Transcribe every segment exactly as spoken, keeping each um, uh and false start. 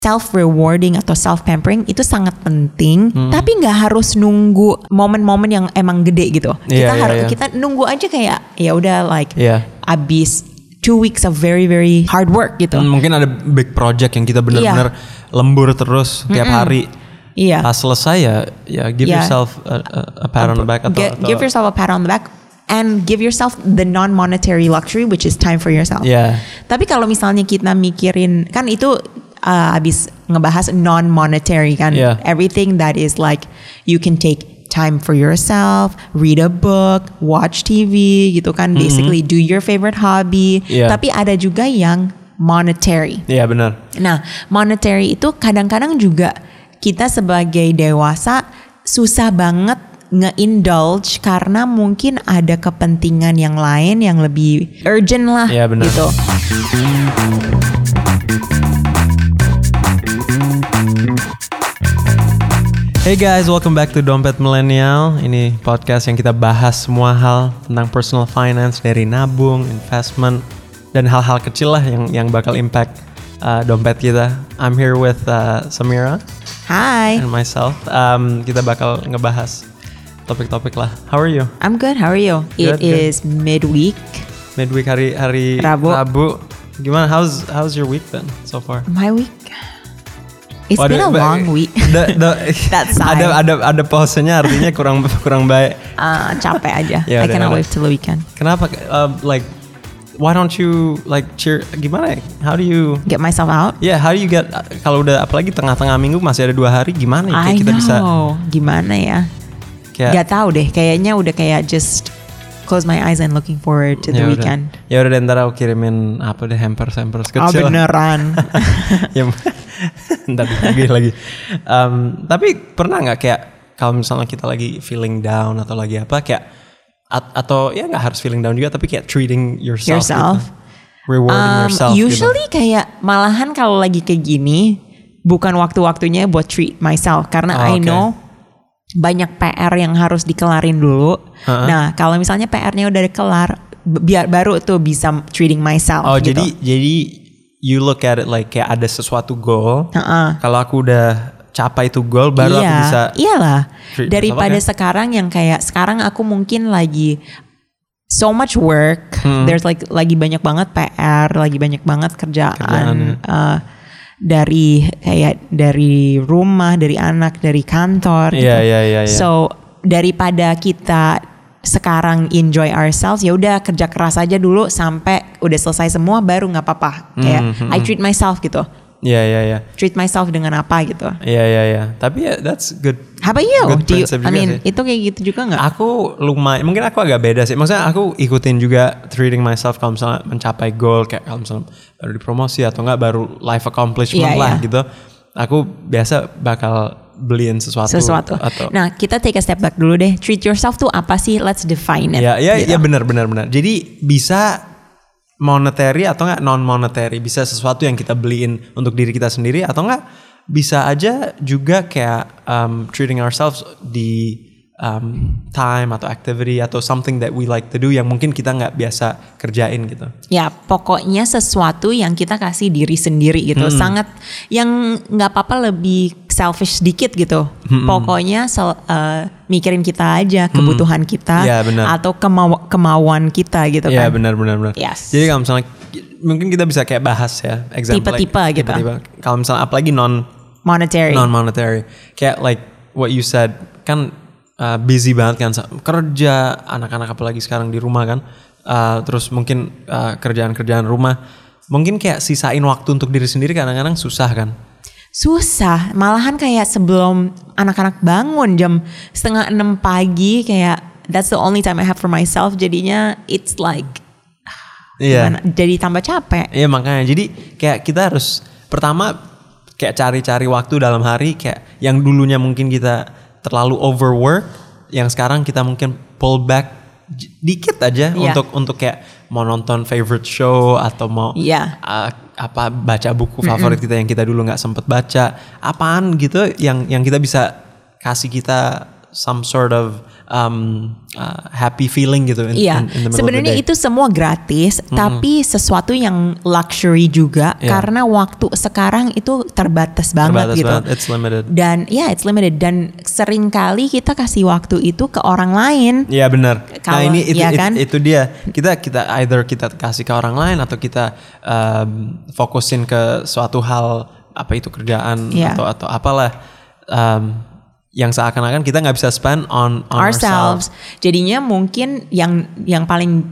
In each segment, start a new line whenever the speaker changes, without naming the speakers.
self rewarding atau self pampering itu sangat penting,
Hmm.
tapi nggak harus nunggu momen-momen yang emang gede gitu.
Iya,
Kita
iya,
harus
iya.
kita nunggu aja kayak ya udah like
Iya.
abis two weeks of very very hard work gitu.
Hmm, mungkin ada big project yang kita benar-benar lembur terus tiap hari.
Iya.
Pas selesai ya, ya give
Yeah.
yourself a, a, a pat on the back atau,
Gi-
atau
give yourself a pat on the back and give yourself the non-monetary luxury which is time for yourself.
Yeah.
Tapi kalau misalnya kita mikirin kan itu uh, abis ngebahas non-monetary kan,
Yeah.
everything that is like you can take time for yourself, read a book, watch T V gitu kan, basically do your favorite hobby.
Yeah.
Tapi ada juga yang monetary.
Iya benar.
Nah, monetary itu kadang-kadang juga kita sebagai dewasa susah banget nge-indulge karena mungkin ada kepentingan yang lain yang lebih urgent lah
Iya, benar.
gitu.
Hey guys, welcome back to Dompet Millennial. Ini podcast yang kita bahas semua hal tentang personal finance, dari nabung, investment, dan hal-hal kecil lah yang yang bakal impact uh, dompet kita. I'm here with uh, Samira
Hi,
and myself. Um, kita bakal ngebahas topik-topik lah. How are you?
I'm good. How are you?
Good,
It is midweek.
Midweek hari hari
Rabu.
Rabu. Gimana? How's how's your week been so far?
My week. It's
Waduh,
been a
ba-
long week.
The, the,
That sigh.
ada ada ada pausenya artinya kurang kurang baik.
Uh, capek aja.
Ya
I
udah,
cannot
udah.
wait till the weekend.
Kenapa? Uh, like, why don't you like cheer? Gimana? ya? How do you?
Get myself out.
Yeah, how do you get? Kalau udah apalagi tengah-tengah minggu masih ada dua hari, gimana? ya? Kayak
I
kita
know.
bisa
Gimana ya?
kayak.
Gak tahu deh. Kayaknya udah kayak just close my eyes and looking forward to the
ya udah.
weekend.
Ya udah, deh, ntar aku kirimin apa deh hampers hampers
Oh
kecil.
beneran.
Ya, ntar lagi lagi. Um, tapi pernah nggak kayak kalau misalnya kita lagi feeling down atau lagi apa kayak at- atau ya nggak harus feeling down juga tapi kayak treating yourself,
Yourself.
gitu. Rewarding
Um,
yourself.
usually
gitu.
kayak malahan kalau lagi kayak gini bukan waktu-waktunya buat treat myself karena
Oh,
I
okay.
know banyak P R yang harus dikelarin dulu.
Uh-huh.
Nah kalau misalnya P R-nya udah kelar, b- biar baru tuh bisa treating myself.
Oh
gitu.
jadi jadi you look at it like kayak ada sesuatu goal.
Uh-uh.
Kalau aku udah capai itu goal baru
iya,
aku bisa.
Iyalah.
treat
Daripada
myself, okay.
sekarang yang kayak sekarang aku mungkin lagi so much work.
Hmm.
There's like lagi banyak banget P R, lagi banyak banget
Kerjaan,
kerjaan. uh, dari kayak dari rumah, dari anak, dari kantor. gitu.
Iya iya iya. iya.
So daripada kita sekarang enjoy ourselves, ya udah kerja keras aja dulu sampai udah selesai semua baru nggak apa-apa. Kayak
Hmm,
I treat myself gitu.
Iya iya iya.
Treat myself dengan apa gitu.
Iya iya iya. Tapi ya that's good.
How about you?
Good
Do you
prinsip
I
juga
mean,
sih.
itu kayak gitu juga nggak?
Aku lumayan, mungkin aku agak beda sih. Maksudnya aku ikutin juga treating myself kalau misalnya mencapai goal kayak kalau misalnya baru dipromosi atau enggak baru life accomplishment
Iya,
lah
iya.
gitu. Aku biasa bakal beliin sesuatu.
Sesuatu.
Atau,
Nah, kita take a step back dulu deh. Treat yourself tuh apa sih? Let's define it.
ya ya
gitu.
ya benar benar benar. Jadi bisa monetary atau enggak non monetary, bisa sesuatu yang kita beliin untuk diri kita sendiri atau enggak bisa aja juga kayak um, treating ourselves di um, time atau activity atau something that we like to do yang mungkin kita nggak biasa kerjain gitu.
Ya, pokoknya sesuatu yang kita kasih diri sendiri gitu.
Hmm.
Sangat yang nggak apa-apa lebih selfish sedikit gitu.
Hmm.
Pokoknya sel- uh, mikirin kita aja, kebutuhan kita
Ya, benar.
atau kemau- kemauan kita gitu
Iya
kan.
benar benar benar.
Yes.
Jadi kalau misalnya mungkin kita bisa kayak bahas ya example
Tipe-tipe
like,
gitu.
tipe-tipe. Kalau misalnya apalagi non
Monetary.
non monetary kayak like what you said kan uh, busy banget kan kerja anak-anak apalagi sekarang di rumah kan uh, terus mungkin uh, kerjaan-kerjaan rumah mungkin kayak sisain waktu untuk diri sendiri kadang-kadang susah kan.
Susah, malahan kayak sebelum anak-anak bangun jam setengah enam pagi kayak that's the only time I have for myself. Jadinya it's like
Iya.
gimana, jadi tambah capek.
Iya makanya jadi kayak kita harus pertama kayak cari-cari waktu dalam hari kayak yang dulunya mungkin kita terlalu overwork, yang sekarang kita mungkin pull back j- dikit aja
Iya.
untuk untuk kayak mau nonton favorite show atau mau
Iya.
uh, apa baca buku favorit kita yang kita dulu nggak sempet baca, apaan gitu yang yang kita bisa kasih kita some sort of um, uh, happy feeling gitu. In,
Iya,
in, in the middle
sebenarnya
of the day.
itu semua gratis, mm-hmm. tapi sesuatu yang luxury juga
Yeah.
karena waktu sekarang itu terbatas banget
Terbatas
gitu.
banget, it's limited.
Dan ya yeah, it's limited dan seringkali kita kasih waktu itu ke orang lain.
Iya benar. Nah
Kalau-
ini itu,
ya
itu,
kan?
itu dia. Kita kita either kita kasih ke orang lain atau kita um, fokusin ke suatu hal apa itu kerjaan
Yeah.
atau atau apalah um, yang seakan-akan kita nggak bisa spend on, on
ourselves.
ourselves.
Jadinya mungkin yang yang paling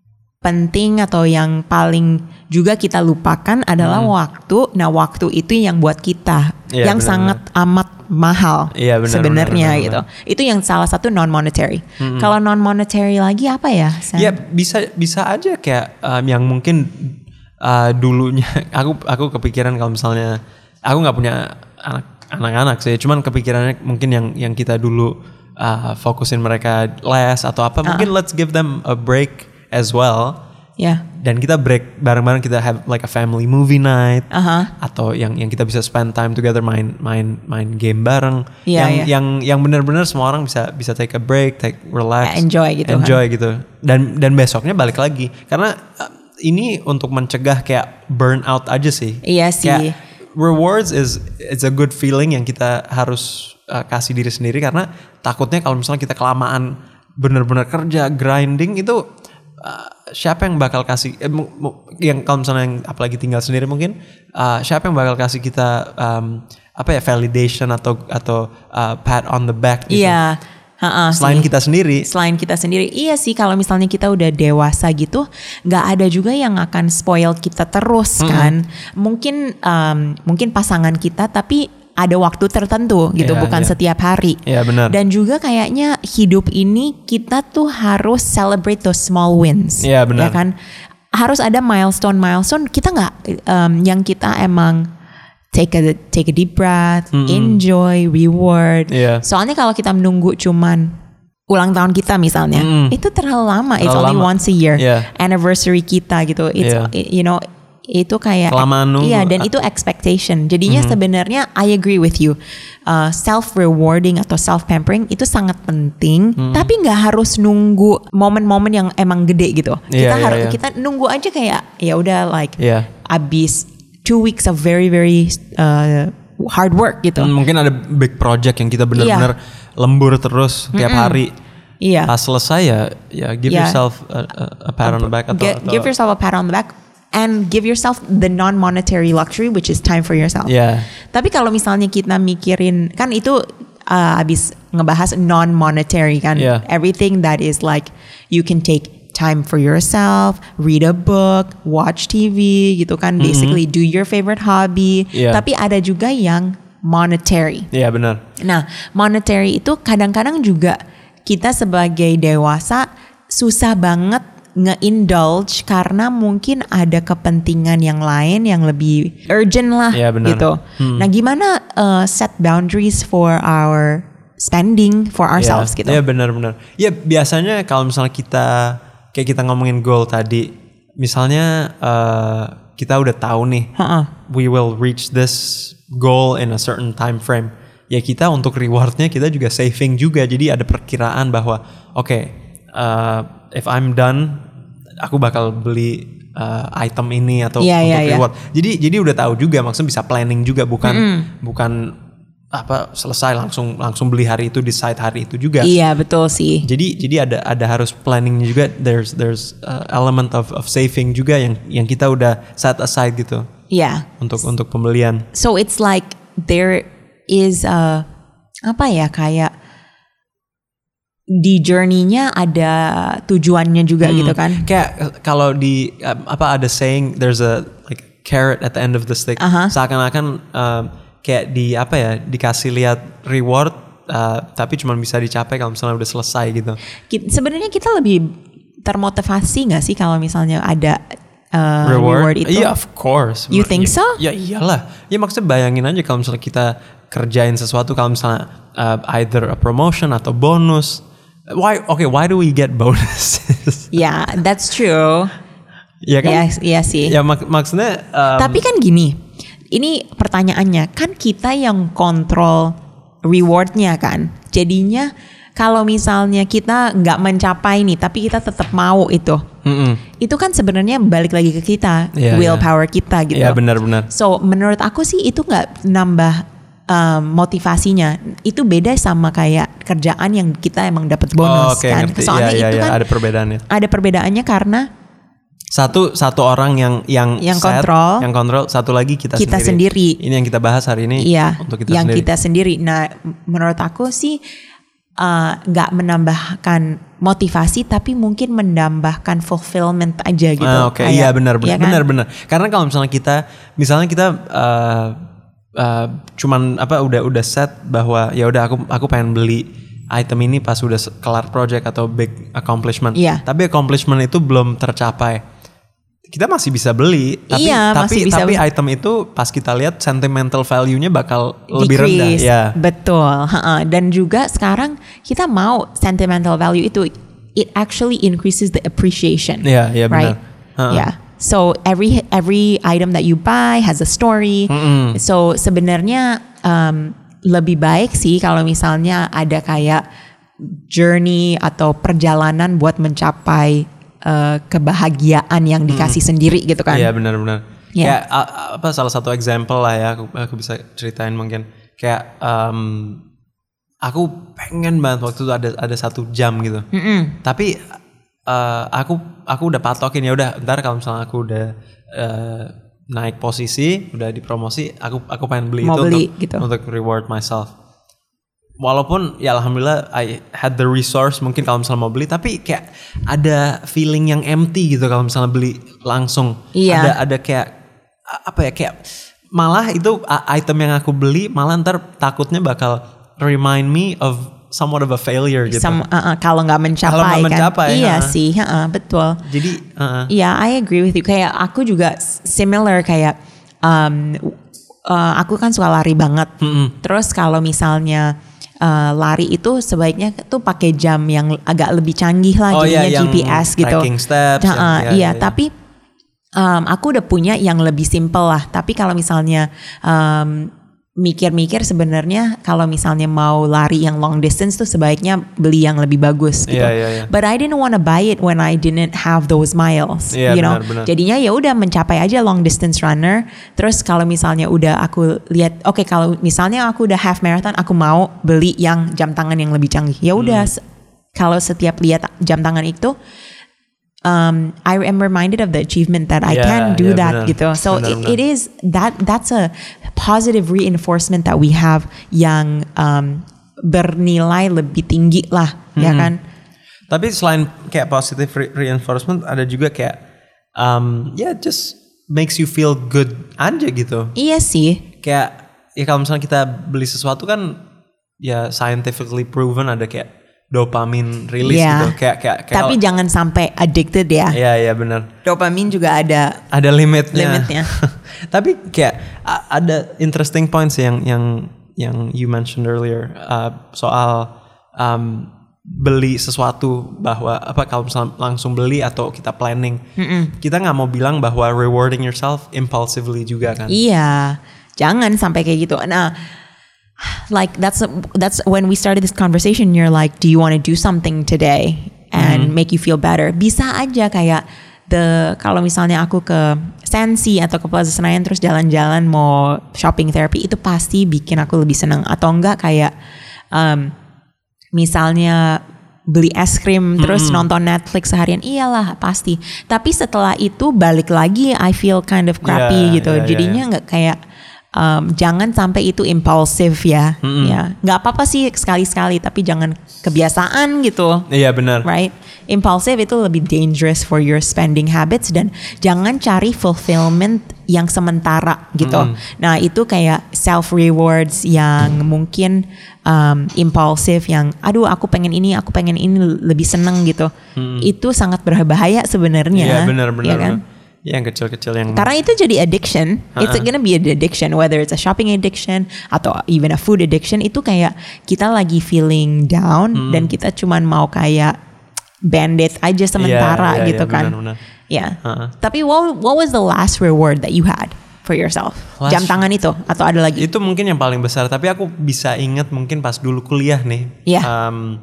penting atau yang paling juga kita lupakan adalah
Hmm.
waktu. Nah, waktu itu yang buat kita
Iya,
yang
benar,
sangat amat mahal
Iya, benar,
sebenarnya
benar, benar,
gitu. Itu yang salah satu non monetary. Kalau non monetary lagi apa ya? Sam?
Ya bisa bisa aja kayak um, yang mungkin uh, dulunya aku aku kepikiran kalau misalnya aku nggak punya anak anak-anak sih, cuman kepikirannya mungkin yang yang kita dulu uh, fokusin mereka les atau apa, mungkin let's give them a break as well.
Ya.
Dan kita break bareng-bareng, kita have like a family movie night,
Aha.
atau yang yang kita bisa spend time together, main main main game bareng,
Iya,
yang
iya.
yang yang benar-benar semua orang bisa bisa take a break, take relax,
Ya, enjoy gitu kan.
enjoy gitu. Dan dan besoknya balik lagi, karena uh, ini untuk mencegah kayak burnout aja sih.
Iya sih.
Kayak rewards is it's a good feeling yang kita harus uh, kasih diri sendiri, karena takutnya kalau misalnya kita kelamaan benar-benar kerja grinding itu uh, siapa yang bakal kasih eh, mu- mu- yang kalau misalnya yang apalagi tinggal sendiri mungkin uh, siapa yang bakal kasih kita um, apa ya validation atau atau uh, pat on the back gitu.
Iya. Ha-ha,
Selain
sih.
kita sendiri.
Selain kita sendiri, iya sih kalau misalnya kita udah dewasa gitu, nggak ada juga yang akan spoil kita terus kan. Mungkin um, mungkin pasangan kita, tapi ada waktu tertentu gitu,
Iya,
bukan
iya.
setiap hari.
Iya, benar.
Dan juga kayaknya hidup ini kita tuh harus celebrate those small wins.
Iya, benar.
Ya kan, harus ada milestone milestone. Kita nggak um, yang kita emang take a take a deep breath, enjoy, reward.
Iya.
Soalnya kalau kita menunggu cuman ulang tahun kita misalnya,
Mm.
itu terlalu lama. It's
Terlalu
only
lama.
once a year.
Iya.
Anniversary kita gitu. It's
Iya.
you know itu kayak
Kelamaan nunggu.
iya, dan itu expectation. Jadinya sebenarnya I agree with you. Uh, self rewarding atau self pampering itu sangat penting, tapi nggak harus nunggu momen-momen yang emang gede gitu.
Iya,
kita
iya,
harus
iya.
kita nunggu aja kayak ya udah like
Iya.
abis two weeks of very very uh, hard work gitu.
Hmm, mungkin ada big project yang kita benar-benar lembur terus tiap hari.
Iya.
Pas selesai ya, ya give
Iya.
yourself a, a, a pat on the back atau,
Gi-
atau
give yourself a pat on the back and give yourself the non-monetary luxury which is time for yourself.
Iya.
Tapi kalau misalnya kita mikirin kan itu uh, abis ngebahas non-monetary kan,
Yeah.
everything that is like you can take time for yourself, read a book, watch T V gitu kan, basically do your favorite hobby.
Yeah.
Tapi ada juga yang monetary.
Iya benar.
Nah, monetary itu kadang-kadang juga kita sebagai dewasa susah banget nge-indulge karena mungkin ada kepentingan yang lain yang lebih urgent lah
Iya, benar.
gitu. Nah, gimana uh, set boundaries for our spending for ourselves
Iya,
gitu?
Iya benar-benar. Ya biasanya kalau misalnya kita kayak kita ngomongin goal tadi, misalnya uh, kita udah tahu nih,
Ha-ha.
we will reach this goal in a certain time frame. Ya kita untuk rewardnya kita juga saving juga, jadi ada perkiraan bahwa oke, okay, uh, if I'm done, aku bakal beli uh, item ini atau
Iya,
untuk
iya, iya.
reward. Jadi jadi udah tahu juga, maksudnya bisa planning juga, bukan bukan apa selesai langsung langsung beli hari itu, decide hari itu juga.
Iya, betul sih.
Jadi jadi ada ada harus planningnya juga. There's there's uh, element of of saving juga yang yang kita udah set aside gitu
Iya.
untuk untuk pembelian.
So it's like there is a apa ya, kayak di journey-nya ada tujuannya juga gitu kan.
Kayak uh, kalau di um, apa ada saying there's a like carrot at the end of the stick.
Aha.
Seakan-akan um, kayak di apa ya, dikasih lihat reward uh, tapi cuma bisa dicapai kalau misalnya udah selesai gitu.
Ki- Sebenarnya kita lebih termotivasi nggak sih kalau misalnya ada uh, reward? itu?
Iya, of course.
You think so?
Ya iyalah. Ya maksudnya bayangin aja kalau misalnya kita kerjain sesuatu, kalau misalnya uh, either a promotion atau bonus. Why? Okay, why do we get bonuses?
Ya, that's true.
Iya kan?
Iya, iya sih.
Ya mak- maksudnya. um,
Tapi kan gini, ini pertanyaannya kan kita yang kontrol rewardnya kan. Jadinya kalau misalnya kita nggak mencapai nih, tapi kita tetap mau itu, mm-mm. itu kan sebenarnya balik lagi ke kita, yeah, willpower yeah. kita gitu.
Iya yeah, benar-benar.
So menurut aku sih itu nggak nambah um, motivasinya. Itu beda sama kayak kerjaan yang kita emang dapat bonus
oh, okay,
kan.
Ngerti.
Soalnya
yeah,
itu
yeah,
kan
ada perbedaannya.
Ada perbedaannya karena
Satu satu orang yang yang,
yang
set,
kontrol,
yang kontrol, satu lagi kita,
kita
sendiri.
sendiri.
Ini yang kita bahas hari ini
iya,
untuk kita
yang
sendiri.
kita sendiri. Nah, menurut aku sih nggak uh, menambahkan motivasi, tapi mungkin menambahkan fulfillment aja gitu.
Ah, Oke, okay. Iya benar benar,
ya kan?
benar benar. Karena kalau misalnya kita, misalnya kita uh, uh, cuman apa udah udah set bahwa ya udah aku aku pengen beli item ini pas udah kelar project atau big accomplishment.
Iya.
Tapi accomplishment itu belum tercapai. Kita masih bisa beli, tapi
iya,
tapi
bisa
tapi
bisa.
item itu pas kita lihat sentimental value-nya bakal
Decrease.
lebih rendah. Ya.
Betul. Dan juga sekarang kita mau sentimental value itu, it actually increases the appreciation.
Iya, iya benar.
Right?
Uh-uh.
Yeah. So every every item that you buy has a story.
Mm-mm.
So sebenarnya um, lebih baik sih kalau misalnya ada kayak journey atau perjalanan buat mencapai Uh, kebahagiaan yang dikasih hmm. sendiri gitu kan.
Iya benar-benar.
Yeah.
Kayak uh, apa salah satu example lah ya, aku, aku bisa ceritain mungkin. Kayak um, aku pengen banget waktu itu ada ada satu jam gitu. Mm-mm. Tapi uh, aku aku udah patokin ya udah ntar kalau misalnya aku udah uh, naik posisi, udah dipromosi, aku aku pengen beli
Mau
itu
beli,
untuk
gitu.
untuk reward myself. Walaupun ya alhamdulillah I had the resource mungkin kalau misalnya mau beli, tapi kayak ada feeling yang empty gitu kalau misalnya beli langsung.
Iya.
Ada ada kayak apa ya kayak malah itu item yang aku beli malah ntar takutnya bakal remind me of somewhat of a failure gitu.
Some, uh, uh, kalau nggak mencapai,
kalau nggak mencapai
kan. Iya
uh.
sih, uh, betul.
Jadi uh.
Iya, I agree with you. Kayak aku juga similar kayak um, uh, aku kan suka lari banget. Mm-hmm. Terus kalau misalnya Uh, lari itu sebaiknya tuh pakai jam yang agak lebih canggih lah,
oh,
jadinya
iya,
G P S gitu.
Tracking steps.
Nah,
yang,
uh,
iya,
iya,
iya,
tapi um, aku udah punya yang lebih simple lah. Tapi kalau misalnya um, mikir-mikir sebenarnya kalau misalnya mau lari yang long distance tuh sebaiknya beli yang lebih bagus gitu.
Yeah, yeah, yeah.
But I didn't want to buy it when I didn't have those miles,
yeah,
you know.
benar, benar.
Jadinya ya udah mencapai aja long distance runner. Terus kalau misalnya udah aku lihat, oke okay, kalau misalnya aku udah half marathon, aku mau beli yang jam tangan yang lebih canggih. Ya udah, hmm. kalau setiap lihat jam tangan itu, Um, I am reminded of the achievement that I
yeah,
can do
yeah,
that
benar,
gitu. So
benar,
it,
benar.
it is that that's a positive reinforcement that we have yang um, bernilai lebih tinggi lah, hmm. ya kan?
Tapi selain kayak positive re- reinforcement, ada juga kayak um, ya yeah, just makes you feel good aja gitu.
Iya sih.
Kayak ya kalau misalnya kita beli sesuatu kan ya scientifically proven ada kayak dopamin release
yeah.
gitu. Kayak kayak kayak
Tapi jangan sampai addicted ya.
Iya iya benar.
Dopamin juga ada
ada limitnya.
limitnya.
Tapi kayak ada interesting points yang yang yang you mentioned earlier uh, soal um, beli sesuatu, bahwa apa kalau misalnya langsung beli atau kita planning, Mm-mm. kita nggak mau bilang bahwa rewarding yourself impulsively juga kan?
Iya, jangan sampai kayak gitu. Nah, like that's that's when we started this conversation. You're like, do you want to do something today and mm-hmm. make you feel better? Bisa aja kayak the kalau misalnya aku ke Sensi atau ke Plaza Senayan terus jalan-jalan mau shopping therapy, itu pasti bikin aku lebih senang. Atau enggak kayak um, misalnya beli es krim terus mm-hmm. nonton Netflix seharian, iyalah pasti. Tapi setelah itu balik lagi I feel kind of crappy yeah, gitu. Yeah, Jadinya nggak yeah, yeah. kayak um, jangan sampai itu impulsif ya. Mm-hmm. Ya, nggak apa-apa sih sekali-sekali, tapi jangan kebiasaan gitu.
Iya yeah, benar.
Right? Impulsif itu lebih dangerous for your spending habits, dan jangan cari fulfillment yang sementara gitu. Mm-hmm. Nah itu kayak self rewards yang mungkin um, impulsif, yang aduh aku pengen ini, aku pengen ini lebih seneng gitu. Mm-hmm. Itu sangat berbahaya sebenarnya.
Iya yeah, benar-benar.
Ya kan?
Yang kecil-kecil yang
karena itu jadi addiction. Uh-uh. It's gonna be an addiction, whether it's a shopping addiction atau even a food addiction. Itu kayak kita lagi feeling down mm. dan kita cuman mau kayak band-aid aja sementara
yeah, yeah,
gitu
yeah,
kan.
Benar-benar.
Ya. Yeah. Uh-uh. Tapi what what was the last reward that you had for yourself?
Last-
Jam tangan itu atau ada lagi?
Itu mungkin yang paling besar. Tapi aku bisa inget mungkin pas dulu kuliah nih.
Iya.
Um,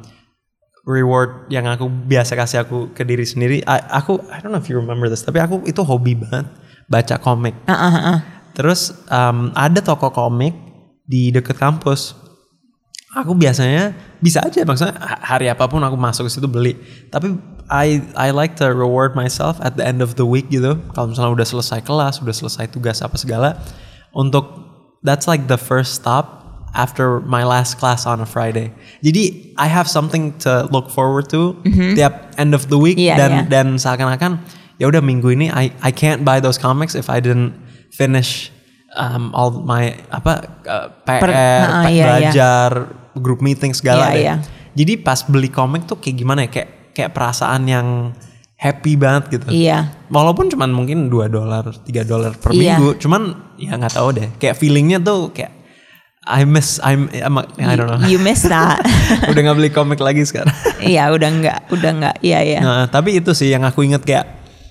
reward yang aku biasa kasih aku ke diri sendiri. I, aku I don't know if you remember this. Tapi aku itu hobi banget baca komik.
Uh, uh, uh.
Terus um, ada toko komik di deket kampus. Aku biasanya bisa aja maksudnya hari apapun aku masuk ke situ beli. Tapi I I like to reward myself at the end of the week gitu. Kalau misalnya udah selesai kelas, udah selesai tugas apa segala, untuk that's like the first stop after my last class on a Friday. Jadi I have something to look forward to mm-hmm. tiap end of the week
yeah,
dan
yeah.
dan seakan-akan ya udah minggu ini I I can't buy those comics if I didn't finish um, all my apa uh, P R,
per, uh,
p-
iya,
belajar, iya. Group meeting segala
iya,
deh.
iya.
Jadi pas beli komik tuh kayak gimana ya? Kayak kayak perasaan yang happy banget gitu.
Iya.
Walaupun cuman mungkin dua dolar, tiga dolar per
iya.
minggu, cuman ya nggak tahu deh. Kayak feelingnya tuh kayak I miss I'm, I'm I don't know.
You, you miss that.
Udah nggak beli komik lagi sekarang.
Iya, udah nggak, udah nggak. Iya, iya.
Nah, tapi itu sih yang aku inget kayak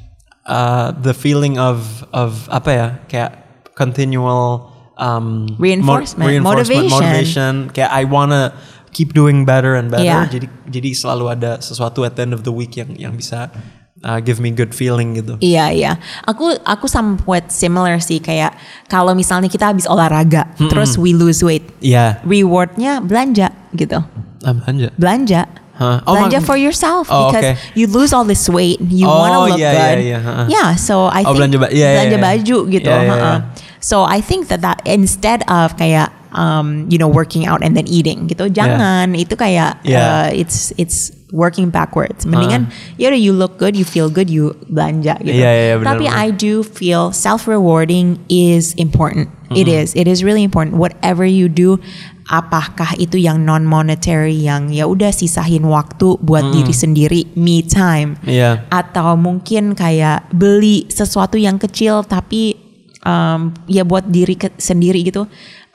uh, the feeling of of apa ya? Kayak continual um,
reinforcement,
mo- reinforcement,
motivation.
motivation. Kayak I wanna keep doing better and better.
Yeah.
Jadi jadi selalu ada sesuatu at the end of the week yang yang bisa uh, give me good feeling gitu.
Iya iya, aku aku somewhat similar sih kayak kalau misalnya kita habis olahraga, hmm. terus we lose weight,
Iya. Yeah.
rewardnya belanja gitu.
Ah, belanja.
Belanja.
Huh? Oh,
belanja
mak-
for yourself
oh,
because
okay.
you lose all this weight, you
Oh,
wanna look
yeah,
good.
yeah, yeah, uh-uh.
Yeah, so I
Oh,
think
belanja ba- yeah,
belanja
yeah, yeah.
baju gitu.
Yeah, yeah,
uh-uh.
yeah.
So I think that that instead of kayak um, you know working out and then eating gitu, jangan itu kayak
Yeah.
uh, it's it's working backwards. Mendingan uh. ya udah you look good, you feel good, you belanja gitu.
Yeah, yeah, yeah, benar,
Tapi
benar.
I do feel self-rewarding is important. Mm-hmm. It is, it is really important. Whatever you do, apakah itu yang non-monetary, yang ya udah sisahin waktu buat mm-hmm. diri sendiri, me time,
yeah.
atau mungkin kayak beli sesuatu yang kecil tapi um, ya buat diri ke- sendiri gitu.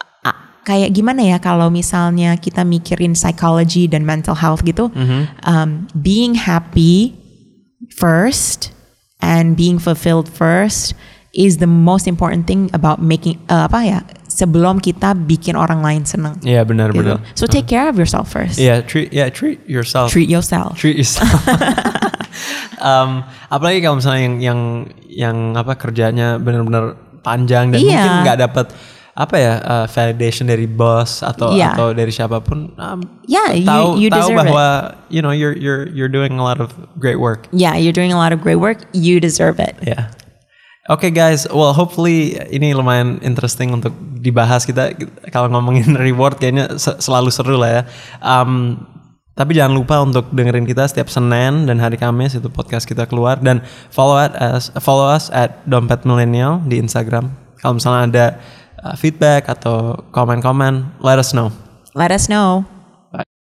Kayak gimana ya kalau misalnya kita mikirin psychology dan mental health gitu, mm-hmm. um, being happy first and being fulfilled first is the most important thing about making uh, apa ya sebelum kita bikin orang lain senang.
Iya yeah, benar
gitu.
benar.
So take care of yourself first.
Iya yeah, treat yeah treat yourself.
Treat yourself.
Treat yourself. um, apalagi kalau misalnya yang yang yang apa kerjanya benar-benar panjang dan
yeah.
mungkin nggak dapat apa ya uh, validation dari bos atau
yeah.
atau dari siapapun. Um,
yeah,
tahu
you, you
tahu
deserve
bahwa
it.
you know you're you're you're doing a lot of great work.
Yeah, you're doing a lot of great work. You deserve it.
Yeah. Oke okay guys, well hopefully ini lumayan interesting untuk dibahas kita kalau ngomongin reward kayaknya selalu seru lah ya. Um, tapi jangan lupa untuk dengerin kita setiap Senin dan hari Kamis itu podcast kita keluar dan follow us follow us at Dompet Millennial di Instagram. Kalau misalnya ada uh, feedback atau komen-komen, let us know.
Let us know.